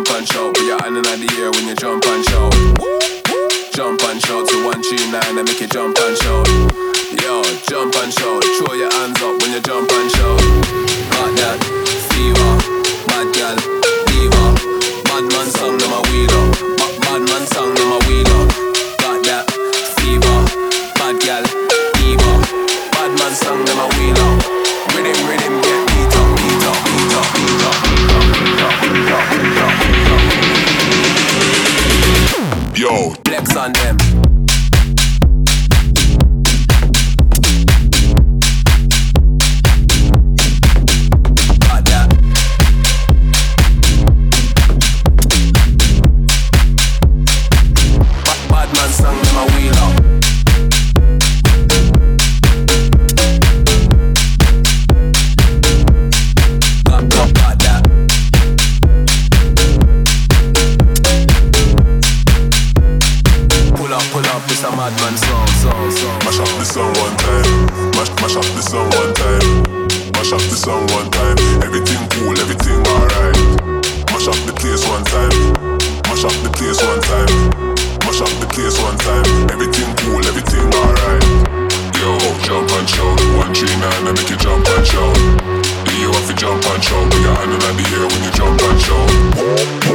jump and shout. Put your hand in the air when you jump and shout. Jump and shout to 139 and make you jump and shout. Yo, jump and shout. Throw your hands up when you jump and shout. Got that fever, bad girl, diva. Bad man song them a wheel up. Bad man song them a wheel up. Got that fever, bad girl, diva. Bad man song them a wheel up. Rhythm, rhythm, get beat up, beat up, beat up, beat up, beat up, beat up, beat up, beat up. Yo, flex on them. Madman song. Mash up the song one time. Mash up the song one time. Mash up the song one time. Everything cool, everything alright. Mash up the place one time. Mash up the place one time. Mash up the place one time. Everything cool, everything alright. Yo, jump and shout. 139 and make you jump and shout. Do you have to jump and shout? Put your hand in the air when you jump and shout.